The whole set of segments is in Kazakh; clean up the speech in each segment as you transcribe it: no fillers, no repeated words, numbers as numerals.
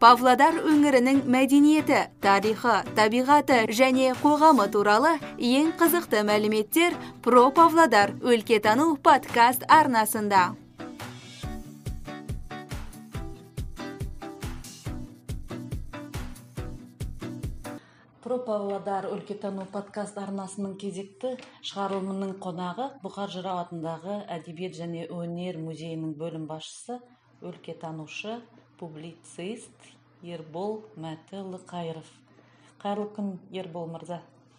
Павлодар өңірінің мәдениеті, тарихы, табиғаты және қоғамы туралы ең қызықты мәліметтер Про Павлодар өлкетану подкаст арнасында. Про Павлодар өлкетану подкаст арнасының кезекті шығарылымының қонағы Бұқар Жырау атындағы әдебиет және өнер музейінің бөлім басшысы, өлкетанушы, публицист Ербол Мәтіұлы Қайыров. Қайырлы күн, Ербол мырза.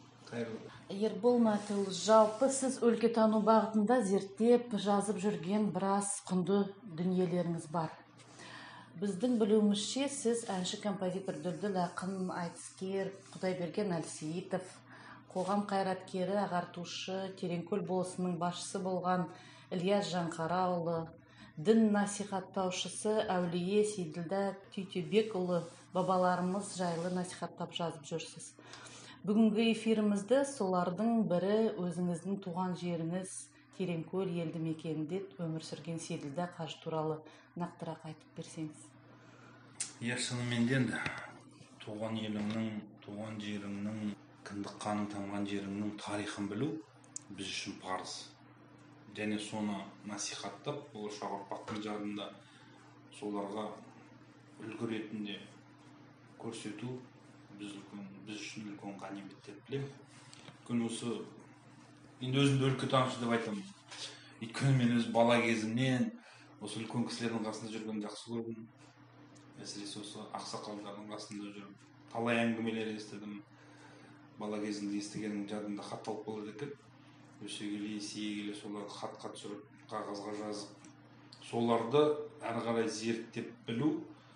Ербол Мәтіұлы, жалпы сіз өлкетану бағытында зерттеп, жазып жүрген біраз құнды дүниелеріңіз бар. Біздің білуімізше, сіз әнші, композитор, дүлділ ақын, айтыскер Құдайберген Әлсейітов, қоғам қайраткері, ағартушы, Тереңкөл болысының басшысы болған Ілияс Жаңқараұлы, дін насихаттаушысы Әулие Сейділдә Түйтебекұлы бабаларымыз жайлы насихаттап жазып жүрсіз. Бүгінгі эфирімізді солардың бірі өзіңіздің туған жеріңіз Тереңкөл елді мекенінде өмір сүрген Сейділдә қажы туралы нақтырақ айтып берсеңіз. Шынымен де туған еліңнің, туған жеріңнің, кіндік қаның тамған жеріңнің тарихын білу біз үшін парыз. Және соны насихаттап, болашақ ұрпақтың жадында соларға үлгі ретінде көрсету біз үшін үлкен ғанибет деп білемін. Өйткені осы енді өзімді өлкетанушы деп айтамын. Өйткені мен өз бала кезімнен осы үлкен кісілердің қасында жүргенді жақсы көрдім. Әсіресе осы ақсақалдардың қасында жүріп, талай әңгімелер естідім. Бала кезімде естігенім жадымда хатталып қалады екен. Өсе келе, есейе келе соларды хатқа түсіріп, қағазға жазып, соларды әрі қарай зерттеп білу,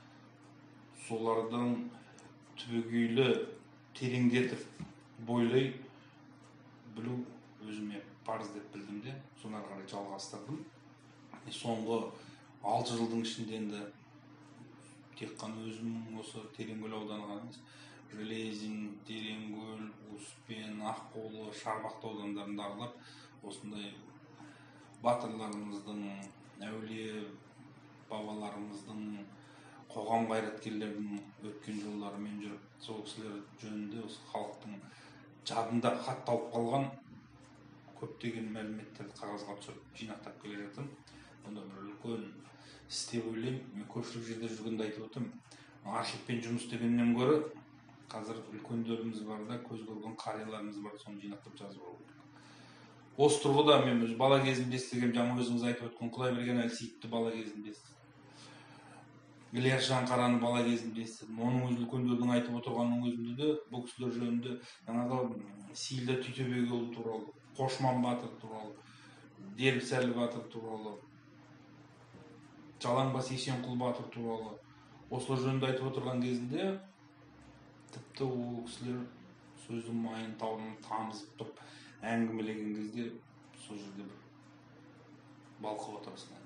солардың түбегейлі тереңдетіп бойлай білу өзіме парыз деп білдім де, соны әрі қарай жалғастырдым. Соңғы 6 жылдың ішінде енді тек қана өзімнің осы Тереңкөл ауданы ғана емес, Железин, Тереңкөл, Успен, Аққулы, Шарбақты аудандарында аралап, осындай батырларымыздың, әулие бабаларымыздың, қоғам қайраткерлерінің өткен жолдарымен жүріп, сол кісілер жөнінде осы халықтың жадында хатталып қалған көптеген мәліметтерді қағазға түсіріп жинақтап келе жатырмын. Онда бір үлкен іс деп ойлаймын. Мен көпшілік жерде жүргенде айтып отырмын. Архивпен жұмыс істегеннен гөрі қазір үлкендеріміз бар да, көз көрген қарияларымыз бар, соны жинақтап жазып алу керек. Осы тұрғыда мен өз бала кезімде естігем, жаңа өзіңіз айтып өткен Құдайберген Әлсейітовті бала кезімде естідім. Ілияс Жаңқараны бала кезімде естідім. Оның өз үлкендердің айтып отырғанның өзінде де бұл кісілер жөнінде жаңағы Сейділдә Түйтебекұлы туралы, Қошман батыр туралы, Дербісәлі батыр туралы, Жалаңбас Есенқұл батыр туралы осылар жөнінде айтып отырған кезінде тіпті ол кісілер сөздің майын тауын тамызып тұрып әңгімелеген кезде сол жерде бір балқып отырасың.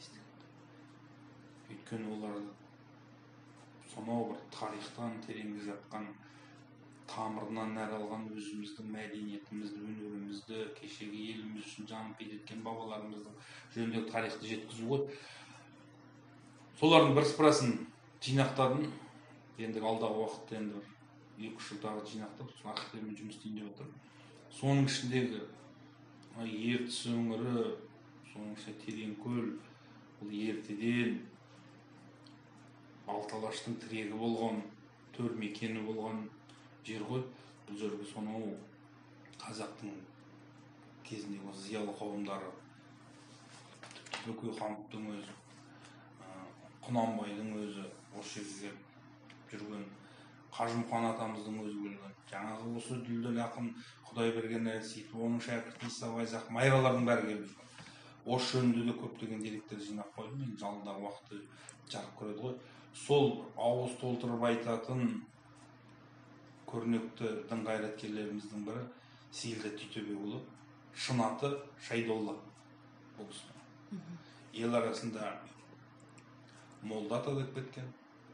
Өйткені олар сонау бір тарихтан тереңде жатқан, тамырынан нәр алған өзіміздің мәдениетімізді, өнерімізді, кешегі еліміз үшін жанын пида еткен бабаларымыздың жөніндегі тарихты жеткізу ғой. Солардың бірсыпырасын жинақтадым. Енді алдағы уақытта енді 2-3 жылдағы жинақтап, архивтермен жұмыс істейін деп отырмын. Соның ішіндегі Ертіс өңірі, соның ішінде Тереңкөл, бұл ертеден Алталаштың тірегі болған, төр мекені болған жер ғой. Бұл жерге сонау қазақтың кезіндегі зиялы қауымдары, Бөкей хандықтың өзі, Құнанбайдың өзі осы жерге жүрген, Қажымұқан атамыздың өзі келген, жаңағы осы дүлділ ақын Құдайберген Әлсейітов, оның шәкірті Иса Байзақ, майралардың бәрі келіп жүрген. Осы жөнінде де көптеген деректер жинап қойдым, енді алдағы уақытта жарық көреді ғой. Сол ауыз толтырып айтатын көрнекті дін қайраткерлеріміздің бірі Сейділдә Түйтебекұлы, шын аты Шайдолла. Бұл кісі ел арасында молда ата деп кеткен.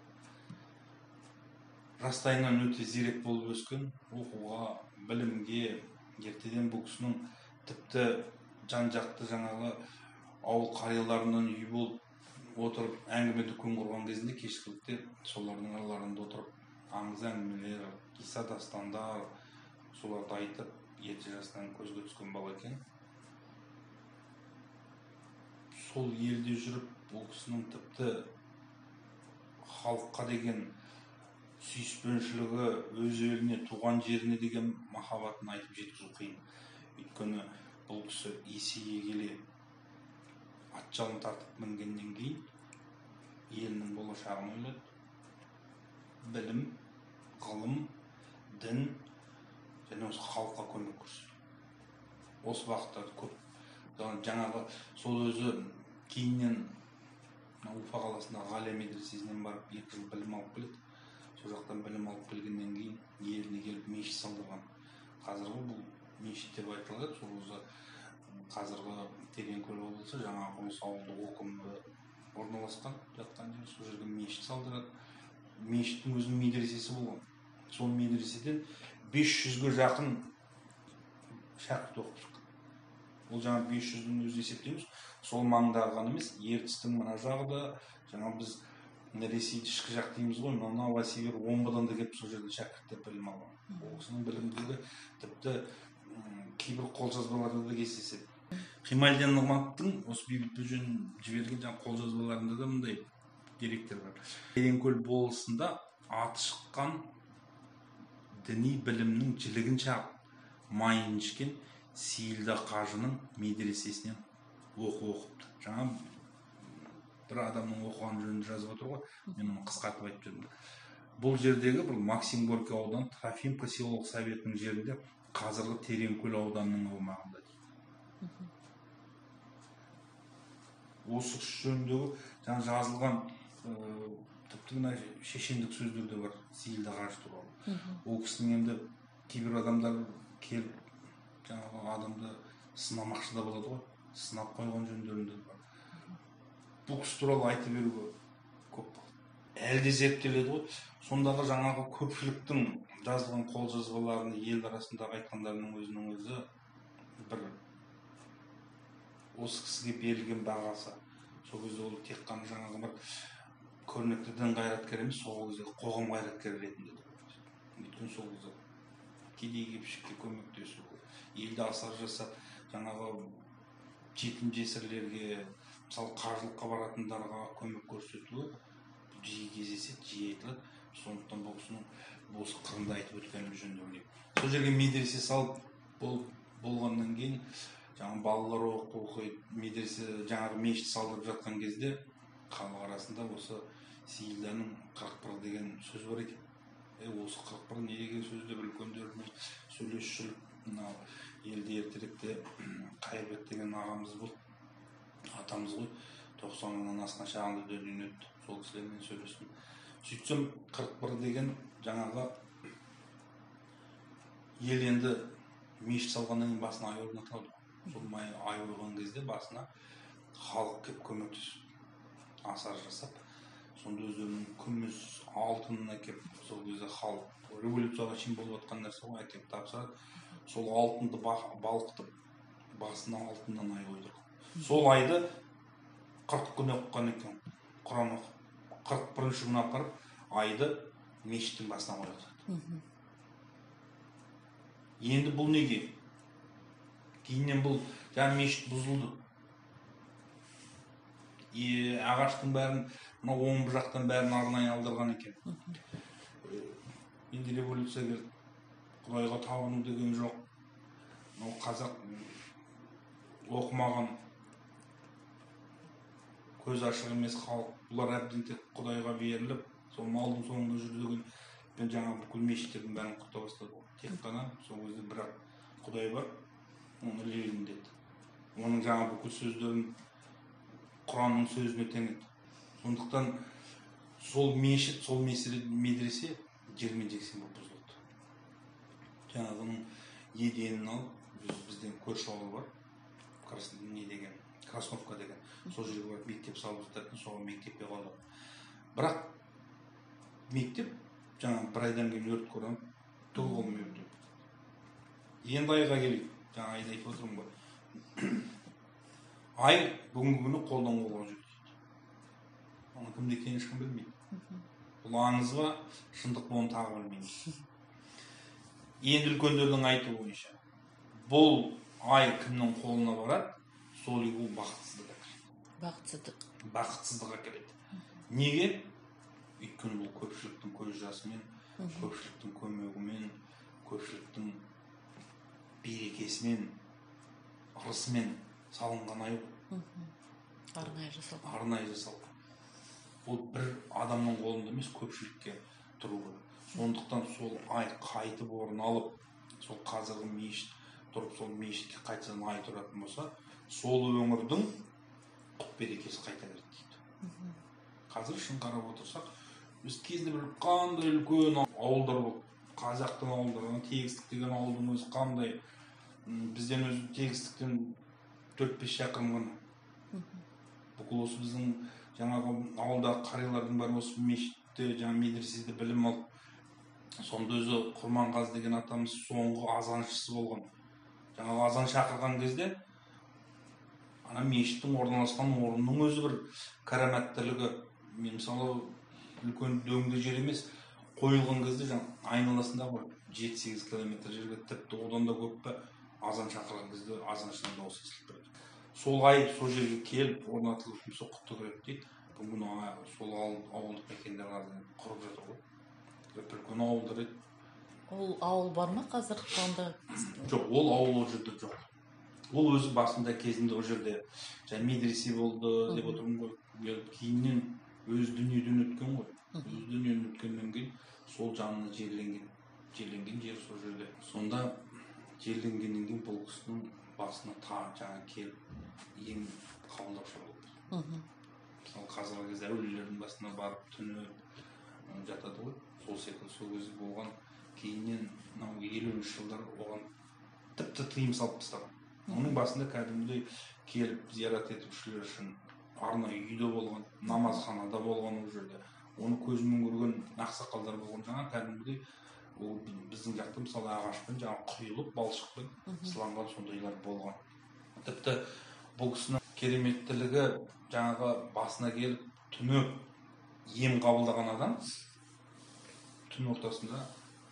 Жастайынан өте зерек болып өскен, оқуға, білімге, ертеден бұл кісінің тіпті жан-жақты жаңағы ауыл қарияларынан үй болып отырып әңгіме дүкен құрған кезінде кешкілікте солардың араларында отырып аңыз әңгімелер, қисса дастандар соларды айтып ерте жастан көзге түскен бала екен. Сол елде жүріп ол кісінің тіпті халыққа деген сүйіспеншілігі, өз еліне, туған жеріне деген махаббатын айтып жеткізу қиын. Өйткені бұл кісі есейе келе ат жалын тартып мінгеннен кейін елінің болашағын ойлады. Білім, ғылым, дін және осы халыққа көмек көрсетті. Осы уақытта көп. Жаңағы сол өзі кейіннен Уфа қаласындағы ғалия медресесінен барып 2 жыл білім алып келеді. Сол жақтан білім алып келгеннен кейін еліне келіп мешіт салдырған. Қазіргі бұл мешіт деп айтылады. Сол өзі қазіргі Тереңкөл облысы жаңағы осы ауылдық округінде орналасқан жатқан жер. Сол жерге мешіт салдырады. Мешіттің өзінің медресесі болған. Сол медреседен 500-ге жақын шәкірт оқып шыққан. Ол жаңа 500-дің өзі есептейміз. Сол маңдағы ғана емес, ертістің мына жағы да, жаңа біз Ресейді ішкі жақ дейміз ғой, Новосибир, Омбыдан да келіп сол жерде шәкірттер білім алған. Ол кісінің білімділігі тіпті кейбір қолжазбаларда да кездеседі. Қималдин Нығматовтың осы Бейбіт Бөжен жіберген жаңа қолжазбаларында да мындай деректер бар. Тереңкөл болысында аты шыққан діни білімнің жілігін шағып майын ішкен Сейілда қажының медресесінен оқыпты. Жаңа бір адамның оқыған жөнінде жазып отыр ғой, мен оны қысқартып айтып жүрмін. Бұл жердегі бір Максим Горький ауданы Трофимка селолық советінің жерінде қазіргі Тереңкөл ауданының аумағында дейді. Осы жөніндегі жаңа жазылған тіпті мына шешендік сөздер де бар Сейілда қажы туралы. Ол кісінің енді кейбір адамдар келіп жаңағы адамды сынамақшы да болады ғой, сынап қойған жөндерінде бар. Бұл кісі туралы айтып беруге көп болады. Әлде зерттеледі ғой. Сондағы жаңағы көпшіліктің жазылған қолжазбаларын ел арасындағы айтқандарының өзінің өзі бір осы кісіге берілген бағасы. Сол кезде ол тек қана жаңағы бір көрнекті дін қайраткер емес, сол кезде қоғам қайраткері ретінде. Өйткені сол кезде кедей-кепшікке көмектесу, елді асар жасап, жаңағы жетім жесірлерге, мысалы қажылыққа баратындарға көмек көрсетуі жиі кездеседі, жиі айтылады. Сондықтан бұл кісінің осы қырында айтып өткенім жөн деп ойлаймын. Сол жерге медресе салып болғаннан кейін жаңағы балалар оқиды, медресе жаңағы мешіт салдырып жатқан кезде халық арасында осы Сейілданың 41 деген сөз бар екен. Осы 41 не деген сөз деп үлкендермен сөйлесіп жүріп, мынау елде ертеректе Қайырбек деген ағамыз болды, атамыз ғой, 90-нан асқан шағында дүниеден өтті. Сол кісілермен сөйлестім. Сөйтсем 41 деген жаңағы ел енді мешіт салғаннан кейін басына ай орнатылады. Сол ай ойған кезде басына халық келіп көмектесіп, асар жасап, сонда өздерінің күміс, алтынын әкеп, сол кезде халық революцияға шейін болып жатқан нәрсе ғой, әкеп тапсырады. Сол алтынды балқытып, басына алтыннан ай ойдырған. Сол айды 40 күн оқыған екен, Құран оқып. 41-ші күн апарып, айды мешіттің басына қойған. Енді бұл неге? Кейіннен бұл жаңа мешіт бұзылды. Ағаштың бәрін, мына омбы жақтан бәрін арнайы алдырған екен. Енді революция келді. Құдайға табыну деген жоқ. Қазақ оқымаған, көз ашық емес халық. Бұлар әбден тек Құдайға беріліп, сол малдың соңында жүрді деген жаңа бүкіл мешіттердің бәрін құрта бастады. Тек қана сол кезде бірақ Құдай бар, оны ілейін деді. Оның жаңа бүкіл сөздерін Құранның сөзіне теңеді. Сондықтан сол мешіт, сол медресе жермен-жексен болып бұзылды. Жаңағының еденін алып, бізден көрші ауыл бар, Красновка деген. Сол жерге барып мектеп салып жататын, соған мектепке қалдық. Бірақ мектеп жаңа бір айдан кейін өрт көранып, түгі қолмен өтіп. Енді айға келейік. Жаңа айды айтып отырмын ғой. Ай бүгінгі күні қолдан қолға жүрді. оның кімде екенін ешкім білмейді. Бұл аңыз ба, шындық ба, оны тағы білмейміз. Енді үлкендердің айтуы бойынша бұл ай кімнің қолына барады, сол үй бұл бақытсыздық әкеледі. Неге? Өйткені бұл көпшіліктің көз жасымен, көпшіліктің көмегімен, көпшіліктің берекесімен, ырысымен салынған ай. Арнайы жасалған. Бұл бір адамның қолында емес, көпшілікке тұру керек. Сондықтан сол ай қайтып орын алып, сол қазіргі мешіт тұрып, сол мешітке қайтадан ай тұратын болса, сол өңірдің құт берекесі қайта береді дейді. Қазір шын қарап отырсақ, біз кезінде бір қандай үлкен ауылдар болды. Қазақтың ауылдары, Тегістік деген ауылдың өзі қандай, бізден өзі Тегістіктен 4-5 шақырым ғана. Бүкіл осы біздің жаңағы ауылдағы қариялардың бәрі осы мешітте, жаңағы медреседе білім алып, сонда өзі Құрманғазы деген атамыз соңғы азаншысы болған. Жаңағы азан шақырған кезде, ана мешіттің орналасқан орнының өзі бір караматтылығы. Мен мысалы үлкен дөңді жер емес, қойылған кезде айналасында 7-8 километр жерге, тіпті одан да көп пе, азан шақырған кезде азаншының дауысы естіліп тұрады. Сол ай сол жерге келіп орнатылып сол құтты көреді дейді. Бүгін сол ауылдық мекендер құрып жатыр ғой. Үлкен ауылдар еді. Ол ауыл бар ма қазір сонда? Жоқ, ол ауыл ол жерде жоқ. Ол өзі басында кезінде ол жерде медресе болды деп отырмын ғой. Кейіннен өз дүниеден өткен ғой. Өз дүниеден өткеннен кейін сол жанына жерленген жер сол жерде. Сонда жерленгеннен кейін бұл кісінің басына жаңа келіп ем қабылдаушы болды. Мысалы қазіргі кезде әулиелердің басына барып түнеп жатады ғой. Сол секілді сол кезде болған. Кейіннен 50-ші жылдар оған тіпті тыйым салып тастаған. Оның басында кәдімгідей келіп зиярат етушілер үшін арнайы үйде болған, намазханада болған ол жерде. Оны көзімен көрген ақсақалдар болған. Жаңа кәдімгідей ол біздің жақта мысалы ағашпен жаңа құйылып балшықпен сыланған сондайлар болған. Тіпті бұл кісінің кереметтілігі жаңағы басына келіп түнеп ем қабылдаған адам түн ортасында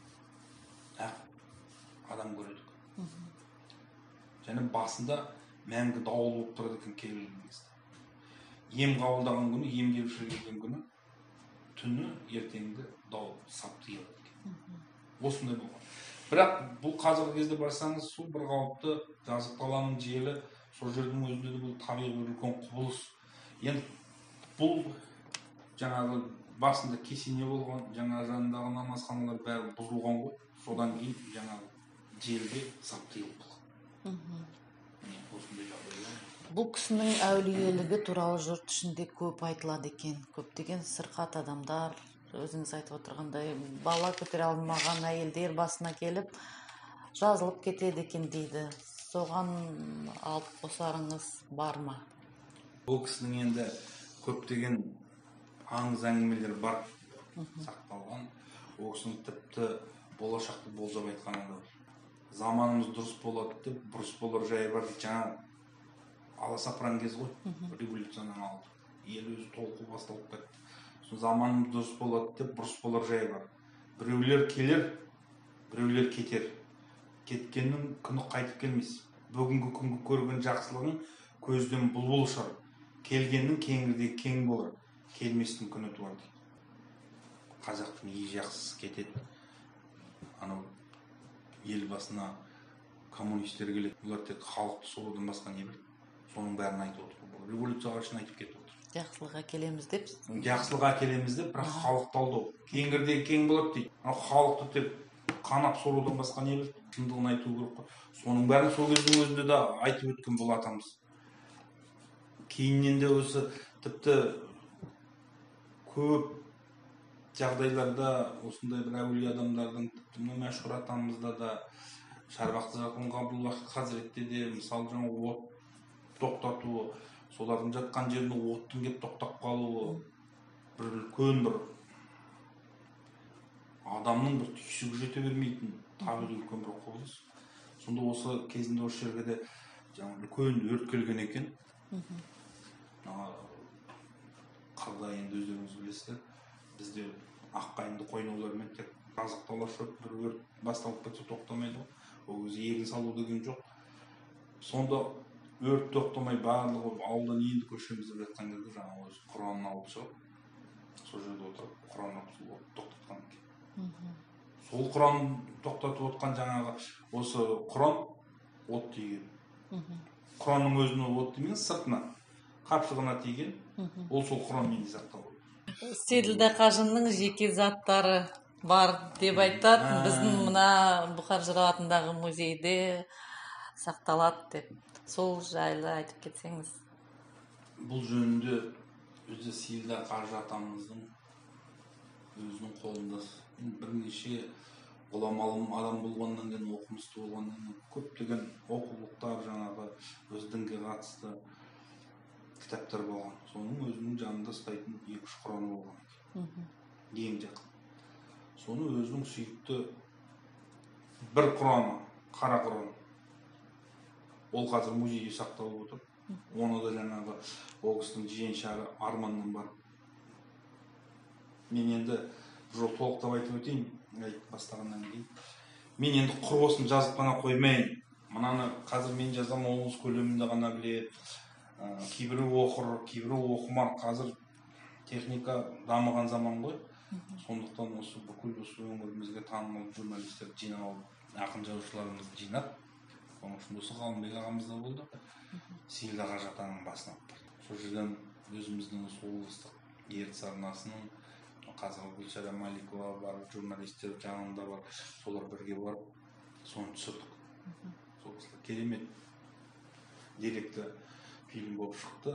адам көреді. Және басында мәңгі дауыл болып тұрады екен келген кезде. Ем қабылдаған күні, ем келуші келген күні, түні ертеңгі дауыл сап тиылады екен. Осындай болған. Бірақ бұл қазіргі кезде барсаңыз, сол бір қалыпты жазық даланың желі, сол жердің өзінде де бұл табиғи үлкен құбылыс. Енді бұл жаңағы басында кесене болған, жаңа жанындағы намазханалар бәрі бұзылған ғой. Содан кейін жаңағы желге сап тиылып қалған. Осындай жағдайлар. Бұл кісінің әулиелігі туралы жұрт ішінде көп айтылады екен. Көптеген сырқат адамдар, өзіңіз айтып отырғандай, бала көтере алмаған әйелдер басына келіп жазылып кетеді екен дейді. Соған алып қосарыңыз бар ма? Бұл кісінің енді көптеген аңыз әңгімелер бар, сақталған. Ол кісінің тіпті болашақты болжап айтқаны да бар. Заманымыз дұрыс болады деп, бұрыс болар жайы бар. Жаңа аласапыран кез ғой, революцияның алды. Ел өзі толқу басталып кетті. Заманымыз дұрыс болады деп, бұрыс болар жайы бар. Біреулер келер, біреулер кетер. Кеткеннің күні қайтып келмес. Бүгінгі күнгі көрген жақсылығың көзден бұлбұл ұшар. Келгеннің кеңірдегі кең болар. Келместің күні туар дейді. Қазақтың ел жақсысы кетеді. Анау ел басына коммунистер келеді. Олар тек халықты соғудан басқа не біледі. Соның бәрін айтып отыр. Революцияға үшін айтып кетіп отыр. Жақсылық әкелеміз деп. Жақсылық әкелеміз деп, бірақ халықты алдау. Кеңірдегі кең болады дейді. Халықты тек қанап сорудан басқа не біледі. Шындығын айту керек қой. Соның бәрін сол кездің өзінде де айтып өткен бұл атамыз. Кейіннен де осы тіпті көп жағдайларда осындай бір әулие адамдардың, тіпті мәшһүр атамызда да, Шарбақты Жақын Ғабдуллахи Хазіретте де, мысалы жаңа от тоқтатуы, солардың жатқан жеріне оттың кеп тоқтап қалуы, бір үлкен бір адамның бір түйсігі жете бермейтін табиғи үлкен бір құбылыс. Сонда осы кезінде осы жерге де үлкен өрт келген екен. қырда енді өздеріңіз білесіздер, бізде аққайыңды қойнаулармен тек жазықтаулар шөп бір өрт басталып кетсе тоқтамайды ғой. Ол кезде егін салу деген жоқ. Сонда өрт тоқтамай барлығы ауылдан енді көшеміз деп жатқан кезде жаңағы өзі Құранын алып шығып, сол жерде отырып Құран оқып тоқтатқан екен. Сол Құран тоқтатып отқан жаңағы осы Құран от тиген. Құранның өзіне от тимеген, сыртына қапшығына тиген. Ол сол Құранмен сақталып. Сейділдә Қажының жеке заттары бар деп айтады. Біздің мына Бұқар Жырау атындағы музейде сақталады деп. Сол жайлы айтып кетсеңіз. Бұл жөнінде өзі Сейділдә Қажы атамыздың өзінің қолында бірнеше ғұламалы адам болғаннан кейін, оқымысты болғаннан кейін көптеген оқулықтар, жаңағы өз дінге қатысты кітаптар болған. Соның өзінің жанында ұстайтын 2-3 Құраны болған. Ең жақын. Соны өзінің сүйікті бір Құраны, қара Құран. Ол қазір музейде сақталып отыр. Оны да жаңағы ол кісінің жиеншары Арманнан бар. Мен енді жоқ толықтап айтып өтейін, айтып бастағаннан кейін. Мен енді құрбосын жазып қана қоймайын. Мынаны қазір мен жазам, олыңыз көлемінде ғана біледі. Кейбірі оқыр, кейбірі оқымар. Қазір техника дамыған заман ғой. Сондықтан осы бүкіл осы өңірімізге танымал журналистер жинап, ақын жазушыларымызды жинап, оның үшін осы Ғалымбек ағамыз да болды. Сейділдә Қажы атаның басына алып барды. Сол жерден өзіміздің облыстық ертіс арнасының қазір Гүлшара Маликова бар, журналистер жанында бар, солар бірге барып, соны түсірдік. Сол керемет деректі фильм болып шықты.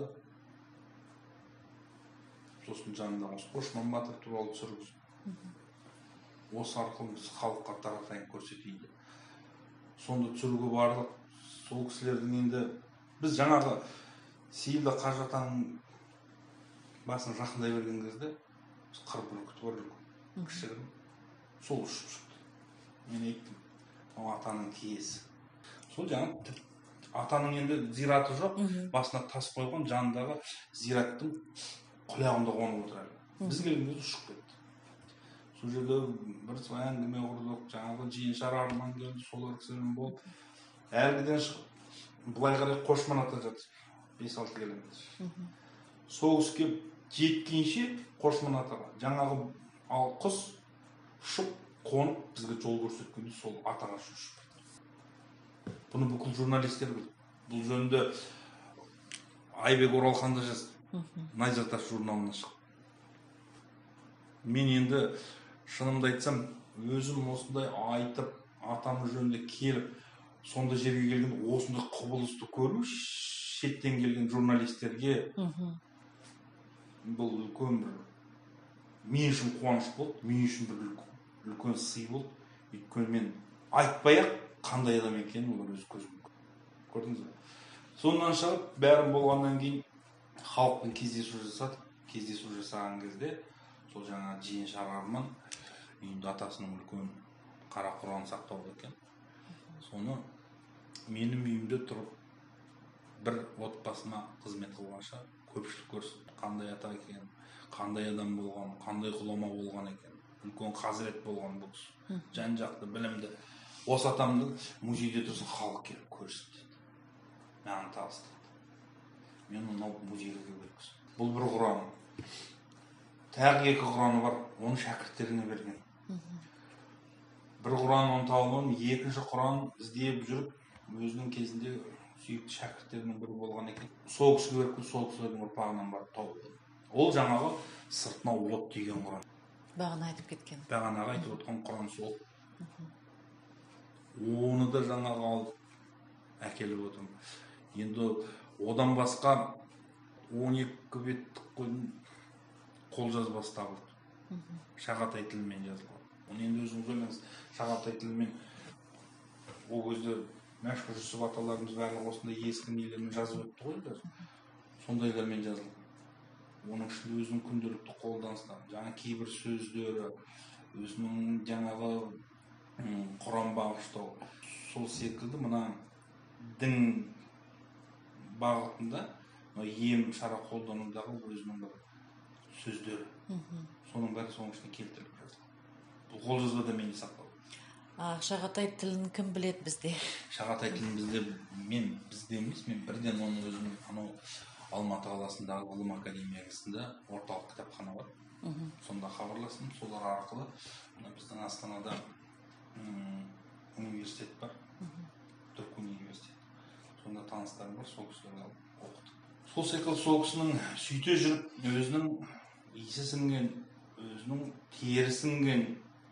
Сосын жанында осы Қошман Батыр туралы түсіргіз. Осы арқылы біз халыққа таратайын көрсетейді. Сонда түсіруге бардық. Сол кісілердің енді біз жаңағы Сейділдә Қажы атаның басын жақындай берген кезде қыр бүркіті бар үлкен, кішігірім. Сол ұшып шықты. Мен айттым, ол атаның киесі. Сол жаңағы атаның енді зираты жоқ, басына тас қойған, жанындағы зираттың құлағында қонып отырады. Біз келген кезде ұшып кетті. Сол жерде бір әңгіме құрдық, жаңағы жиеншар Арман келді, солар кісімен болып. Әлгіден шығып, былай қарай Қошман ата жатыр, 5-6 километр. Сол кісі келіп жеткенше Қошман атаға жаңағы құс ұшып қонып бізге жол көрсеткенде сол атаға ұшып кетті. Бұны бүкіл журналистер білді. Бұл жөнінде Айбек Оралхан да жазды. Найзат Аш журналына шықты. Мен енді шынымды айтсам, өзім осындай айтып, атамыз жөнінде келіп, сонда жерге келген осындай құбылысты көру, шеттен келген журналистерге бұл үлкен бір, мен үшін қуаныш болды, мен үшін бір үлкен сый болды. Өйткені мен айтпай-ақ қандай адам екенін олар өз көзімен көрдіңіз бе? Сондан шығып, бәрін болғаннан кейін халықпен кездесу жасадық. Кездесу жасаған кезде сол жаңа жиеншар Арман үйінде атасының үлкен қара Құран сақтауда екен. Соны менің үйімде тұрып бір отбасыма қызмет қылғанша көпшілік көрсін, қандай ата екен, қандай адам болған, қандай ғұлама болған екен, үлкен хазірет болған бұл кісі, жан-жақты білімді. Осы атамды музейде тұрсын, халық келіп көрсін деді. Маған табыстады. Мен оны музейге бергізді. Бұл бір Құран. Тағы 2 Құраны бар, оны шәкірттеріне берген. Бір Құран оны тауып, 2-ші Құран іздеп жүріп, өзінің кезінде сүйікті шәкірттерінің бірі болған екен. Сол кісіге беріп, сол кісілердің ұрпағынан барып тауып. Ол жаңағы сыртына от тиген Құран. Бағана айтып кеткен. Бағанаға айтып отқан Құран сол. Оны да жаңағы алып әкеліп отырмын. Енді одан басқа 12 беттік қолжазбасы табылды. Шағатай тілімен жазылған. Оны енді өзіңіз ойлаңыз, Шағатай тілімен ол кезде мәшһүр Жүсіп аталарымыз барлығы осындай ескі нелермен жазып өтті ғой. Сондайлармен жазылған. Оның ішінде өзінің күнделікті қолданыстары, жаңа кейбір сөздері, өзінің жаңағы Құран бағыштау. Сол секілді мына дін бағытында ем шара қолданудағы өзінің бір сөздері. Соның бәрі соның ішіне келтіріліп жатыр. Бұл қолжазбада менде сақталды. Шағатай тілін кім біледі бізде? Шағатай тілін бізде емес, мен бірден оның өзім анау Алматы қаласындағы ғылым академиясында орталық кітапхана бар. Сонда хабарластым, солар арқылы біздің Астанада университет бар, Түрік университеті. Сонда таныстарым бар, сол кісілерді алып оқыдым. Сол секілді сол кісінің сөйте жүріп, өзінің иісі сіңген, өзінің тері сіңген,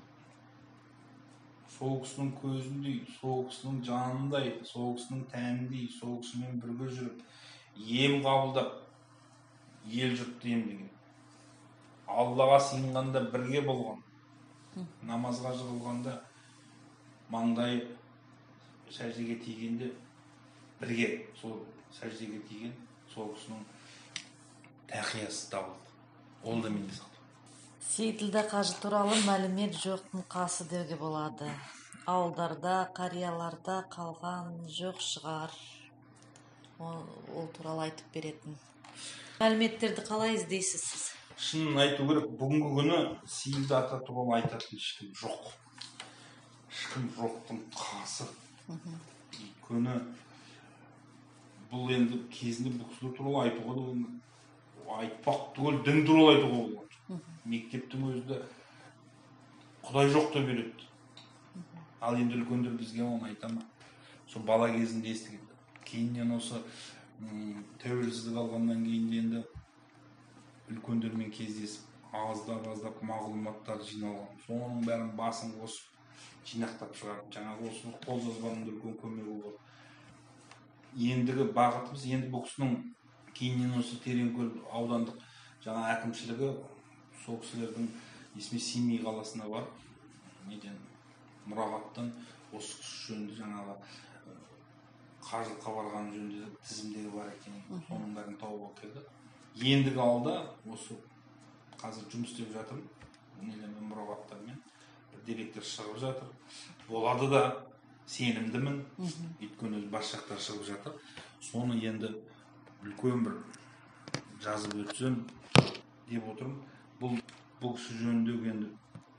сол кісінің көзіндей, сол кісінің жанындай, сол кісінің тәніндей, сол кісімен бірге жүріп, ем қабылдап, ел жұртты емдеген. Аллаға сыйынғанда бірге болған, намазға жығылғанда, маңдайы сәждеге тигенде бірге, сол сәждеге тиген, сол кісінің тақиясы табылды. Ол да менде сақталды. Сейітілда қажы туралы мәлімет жоқтың қасы деуге болады. Ауылдарда, қарияларда қалған жоқ шығар. Ол туралы айтып беретін. Мәліметтерді қалай іздейсіз сіз? Шынын айту керек, бүгінгі күні Сейілді ата туралы айтатын ешкім жоқ. Ешкім жоқтың қасы. Өйткені бұл енді кезінде бұл кісілер туралы айтуға да айтпақ түгел дін туралы айтуға болады. Мектептің өзінде Құдай жоқ деп үйретті. Ал енді үлкендер бізге оны айта ма? Сол бала кезінде естіген. Кейіннен осы тәуелсіздік алғаннан кейін енді үлкендермен кездесіп, аздап мағлұматтар жиналған. Соның бәрін басын қосып, жинақтап шығарып, жаңағы осы қолжазбаның үлкен көмегі болды. Ендігі бағытымыз, енді бұл кісінің кейіннен осы Тереңкөл аудандық жаңа әкімшілігі сол кісілердің есіме Семей қаласына бар, мұрағаттан осы кісі жөнінде жаңағы қажылыққа барған жөнінде тізімдегі бар екен, соның бәрін тауып келді. Ендігі алда осы қазір жұмыс істеп жатырмын, мұрағаттармен бір деректер шығып жатыр. Болады да, сенімдімін, өйткені бас жақтар шығып жатыр. Соны енді үлкен бір жазып өтсем деп отырмын. Бұл кісі жөніндегі енді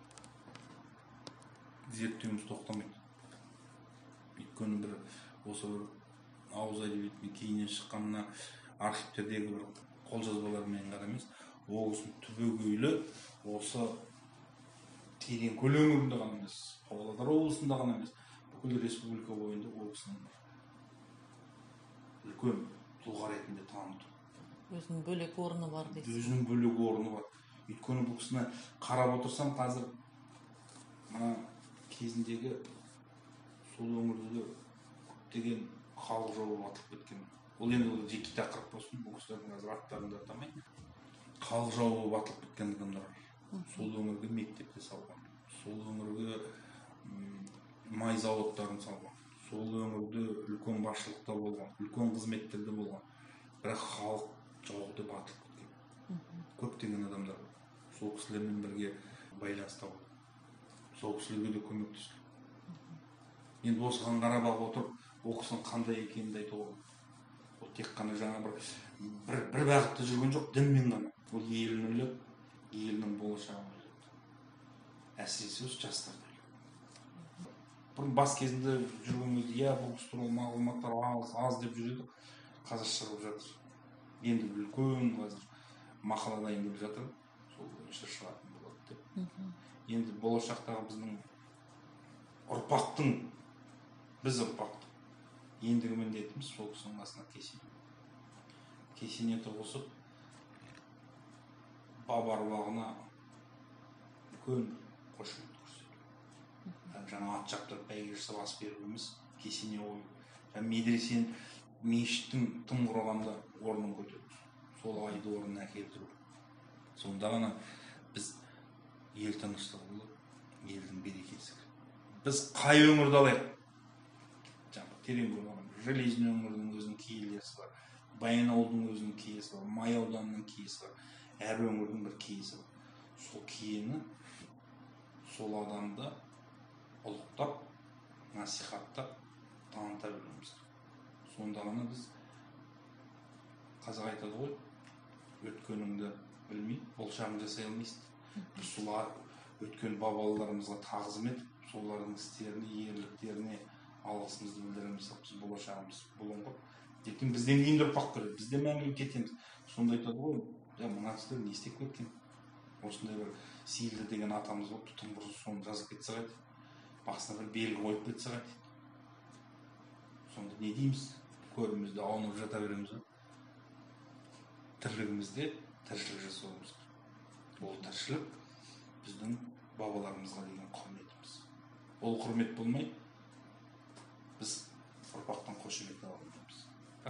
зерттеуіміз тоқтамайды. Өйткені бір осы бір ауыз әдебиетінен кейіннен шыққанына архивтердегі бір қолжазбалармен ғана емес, ол кісінің түбегейлі осы Тереңкөл өңірінде ғана емес, Павлодар облысында ғана емес, бүкіл республика бойында ол кісінің үлкен тұлға ретінде таныту. Өзінің бөлек орны бар дейсіз. Өзінің бөлек орны бар. Өйткені бұл кісіні қарап отырсам, қазір мына кезіндегі сол өңірде көптеген халық жауы атылып кеткен. Ол енді жеке тақырып болсын, бұл кісілердің қазір аттарын да атамаймын. Халық жауы атылып кеткен адамдар. Сол өңірге мектепте салған. Сол өңірге май заводтарын салған. Сол өңірде үлкен басшылықта болған, үлкен қызметтерде болған. Бірақ халық жауы деп атылып кеткен. Көптеген адамдар сол кісілермен бірге байланыста болды. Сол кісілерге де көмектесті. Енді осыған қарап отырып, ол кісінің қандай екенін айтуға болады. Ол тек қана жаңа бір бағытта жүрген жоқ, дінмен ғана. Ол елін ойлап, елінің болашағын ойлап. Әсіресе осы жастарды ойлап. Бұрын бас кезінде жүрген кезде, бұл кісі туралы мағлұматтар аз деп жүреді. Қазір шығып жатыр. Енді үлкен қазір мақала дайындап жатыр. Сол бойынша шығатын болады деп. Енді болашақтағы біздің біз ұрпақтың ендігі міндетіміз сол кісінің басына кесене тұрғызып, баба аруағына үлкен қошемет көрсету. Жаңа ат жаптырып бәйге жасап ас беру емес, кесене қою. Медресен, мешіттің тым құрғанда орнын көтеру. Сол айды орнына әкелдіру. Сонда ғана біз ел тыныштығы болып, елдің берекесі. Біз қай өңірді алайық? Тереңкөл Железин өңірінің өзінің киелесі бар, Баянауылдың өзінің киесі бар, Май ауданының киесі бар. Әр өңірдің бір киесі бар. Сол киені, сол адамды ұлықтап, насихаттап, таныта білуіміз. Сонда ғана біз, қазақ айтады ғой, өткеніңді білмейді, болашағын жасай алмайсың. Біз солар өткен бабаларымызға тағзым етіп, солардың істеріне, ерліктеріне алғысымызды білдіреміз. Біз болашағымыз бұлыңғыр. Ертең бізден кейінгі ұрпақ көреді, біз де мәңгілік кетеміз. Сонда айтады ғой, мына кісілер не істеп кеткен? Осындай бір сейілді деген атамыз болып, тым құрыса соны жазып кетсе қайтеді. Басына бір белгі қойып кетсе қайтеді. Сонда не дейміз? Көрімізде аунып жата береміз. Тірлігімізде тіршілік жасауымыз керек. Ол тіршілік біздің бабаларымызға деген құрметіміз. Ол құрмет болмай, біз ұрпақтан қошемет ала алмаймыз.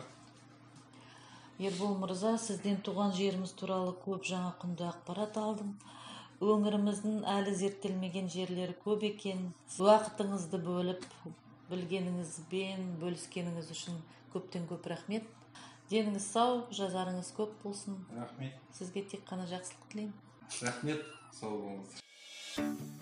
Ербол мырза, сізден туған жеріміз туралы көп жаңа құнды ақпарат алдым. Өңіріміздің әлі зерттелмеген жерлері көп екен. Уақытыңызды бөліп, білгеніңізбен бөліскеніңіз үшін көптен көп рахмет. Деніңіз сау, жазарыңыз көп болсын. Рахмет. Сізге тек қана жақсылық тілеймін. Рахмет, сау болыңыз.